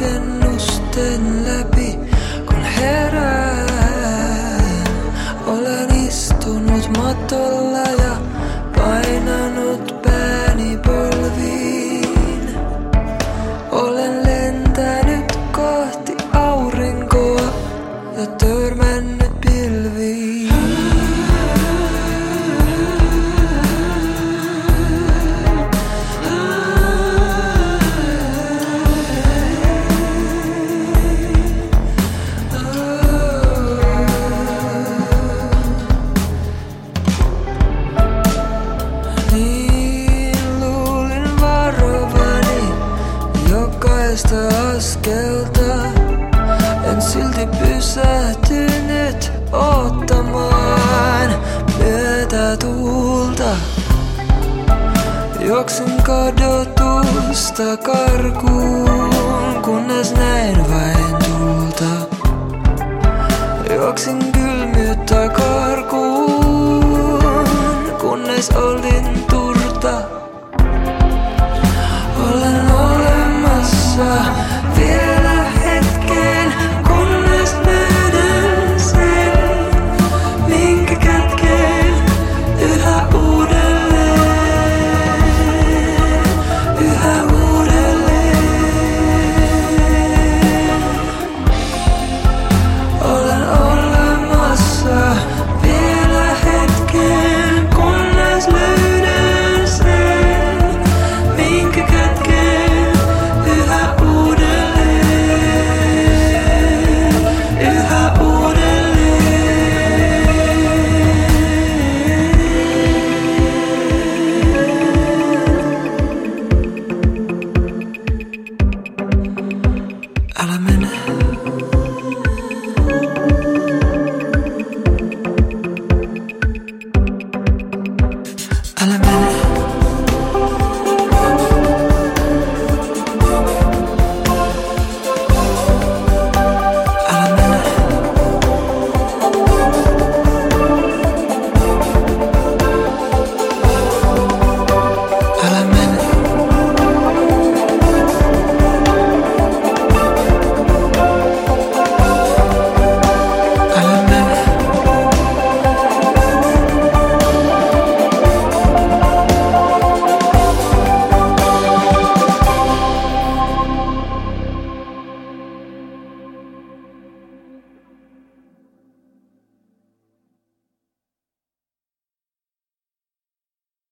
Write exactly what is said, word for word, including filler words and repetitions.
rakennusten läpi, kun herään. Olen istunut matolla ja painanut pääni polviin. Olen lentänyt kohti aurinkoa ja törmännyt pilviin. Jokaista askelta en silti pysähtynyt ottamaan myötätuulta. Juoksin kadotusta karkuun, kunnes näin vain tulta. Juoksin kylmyyttä karkuun, kunnes olin turta. Olen olemassa vielä hetken, kunnes löydän sen, minkä kätkeen yhä uudelleen, yhä uudelleen. Olen olemassa vielä hetken, kunnes löydän sen, minkä kätkeen yhä uudelleen, yhä uudelleen. Älä mene.